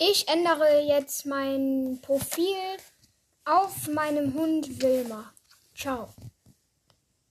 Ich ändere jetzt mein Profil auf meinem Hund Wilma. Ciao.